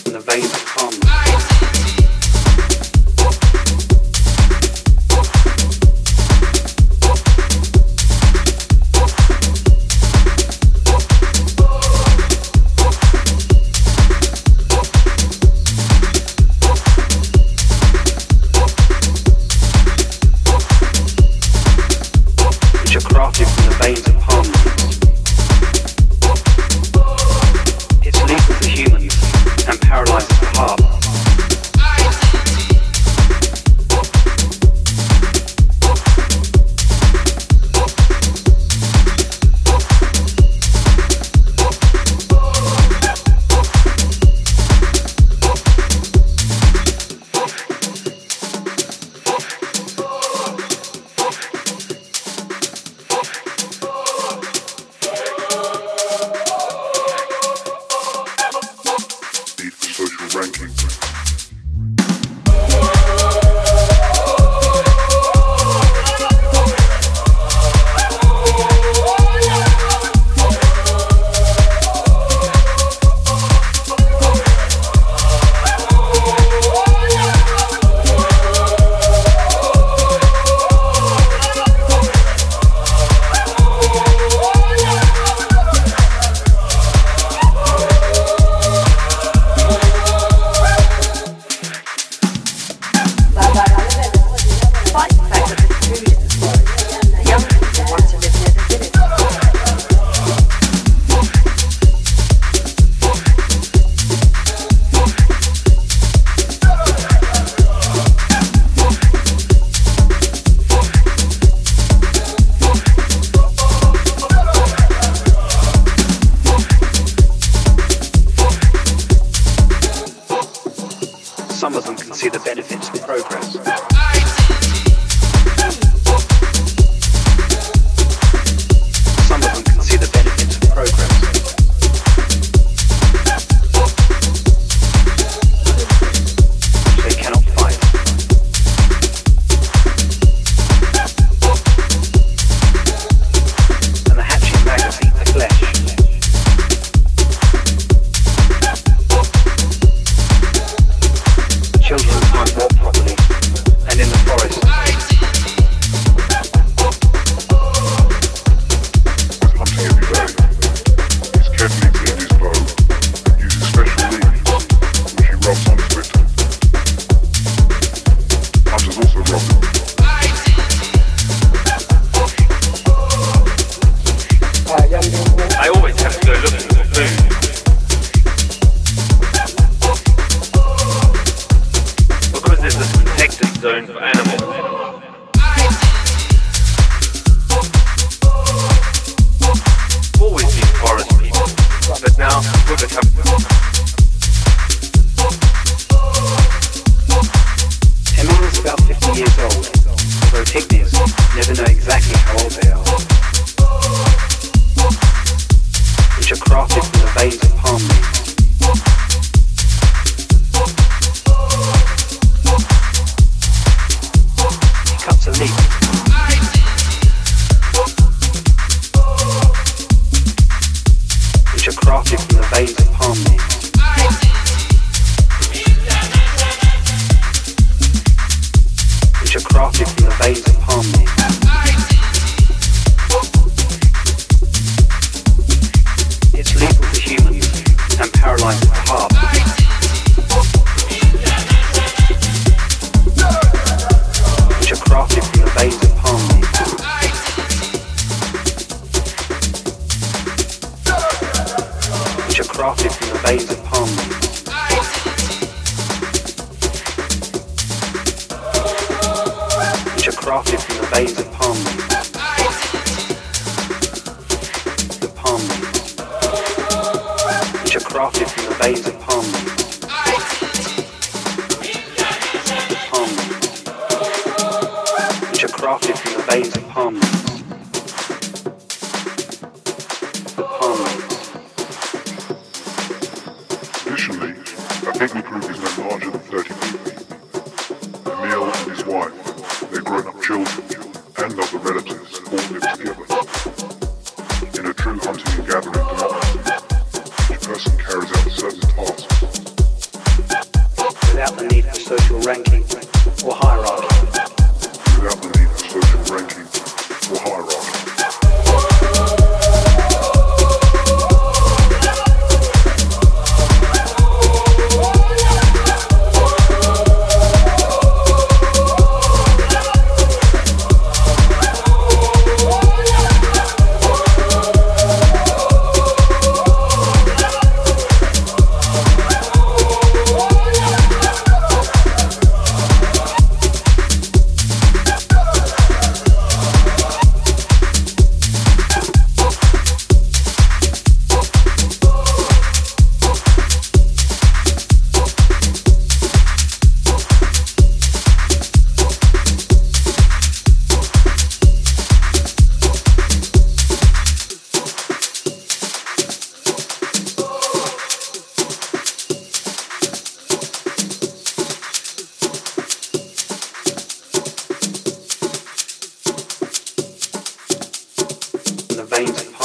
from the veins of palm. Some of them can see the benefits of progress. Some of them can see the benefits of progress. They cannot fight. And the hatching maggots eat the flesh. Children can't walk properly, and in the forest. With hunting every day, he's carefully cleaned his bow and uses special leaves, which he rubs on his victim. Hunters also rub them. I always have to go looking for food. There's a protected zone for animals. Always been forest people, but now we've become. Emil is about 50 years old, although pygmies never know exactly how old they are, which are crafted from the veins of palm leaves. Cuts a leaf. Which are crafted from the veins of palm leaves. Which are crafted from the veins of palm leaves. It's lethal to humans and paralyzes the heart. Which are crafted from the veins of palm leaves. Which are crafted from the veins of palm leaves. Which are crafted from the veins of palm leaves. The palm leaves. Which are crafted from the veins of palm leaves. The palm leaves. Which are crafted from the veins of palm leaves. The palm leaves. Traditionally, a pygmy group is no larger than 30 people. Emil and his wife, their grown-up children, and other relatives all live together. In a true hunting and gathering democracy, each person carries out certain tasks. without the need for social ranking or hierarchy. Without the need for social ranking or hierarchy. The veins